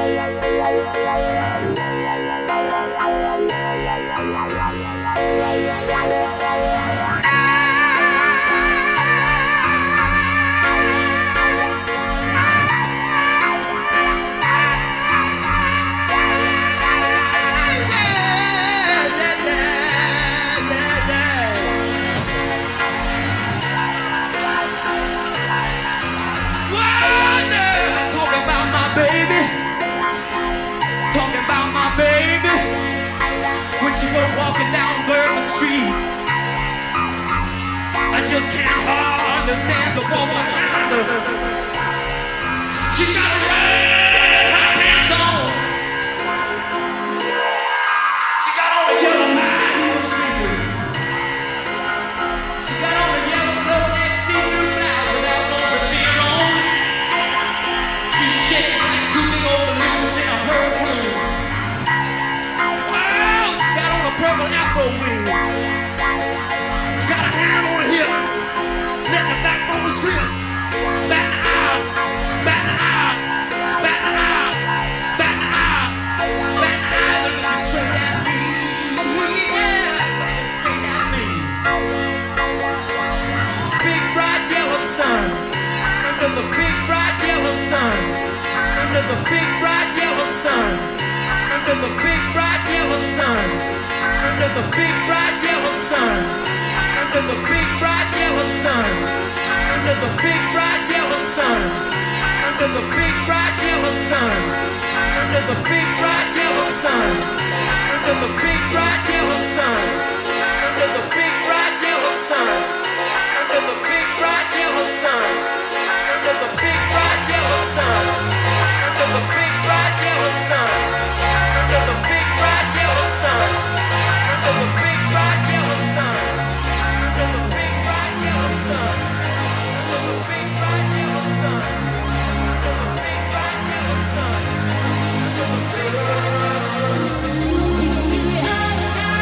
When she was walking down Bourbon Street, I just can't understand the woman behind her. She got a red hot pants on. She got on a yellow high heel sneaker. She got on a yellow no-neck see-through blouse without no brassiere on. She's shaking like two big old balloons in a hurricane. Purple afro wig. She got a hand on her hip, letting the backbone slip. Back the aisle, back the aisle, back the aisle, back the aisle, back the aisle. Looking straight at me, yeah, looking straight at me. Big bright yellow sun, under the big bright yellow sun, under the big bright yellow sun, under the big bright yellow sun. Under the big bright yellow sun, under the big bright yellow sun, under the big bright yellow sun, under the big bright yellow sun, under the big bright yellow sun, under the big bright yellow sun, under the big bright yellow sun, under the big bright yellow sun, under the big bright yellow sun, under the big bright yellow sun, under the big bright yellow sun. The big bright yellow sun, the big bright yellow sun, the big bright yellow sun, the big bright yellow sun, the big bright yellow sun.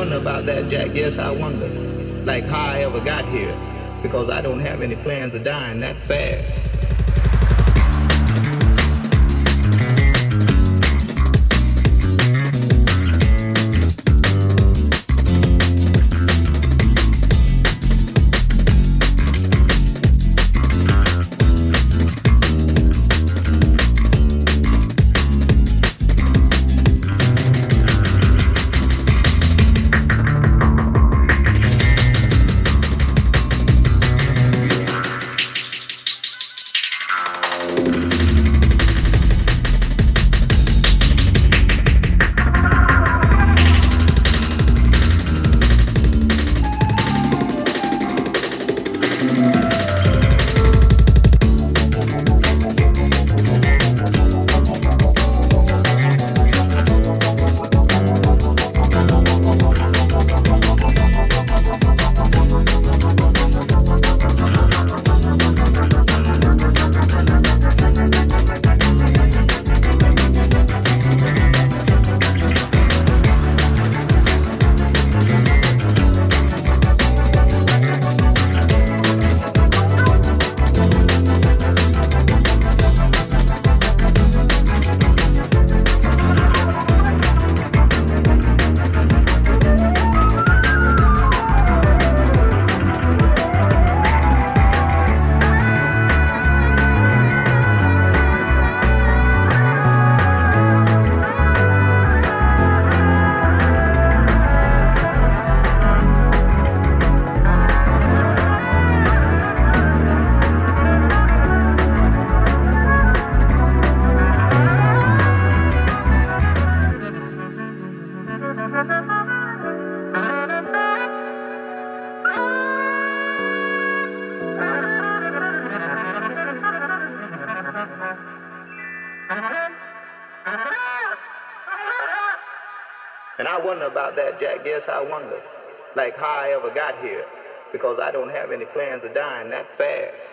wonder about that, Jack. Yes, I wonder. Like how I ever got here. Because I don't have any plans of dying that fast. And I wonder about that, Jack. Yes, I wonder. Like how I ever got here. Because I don't have any plans of dying that fast.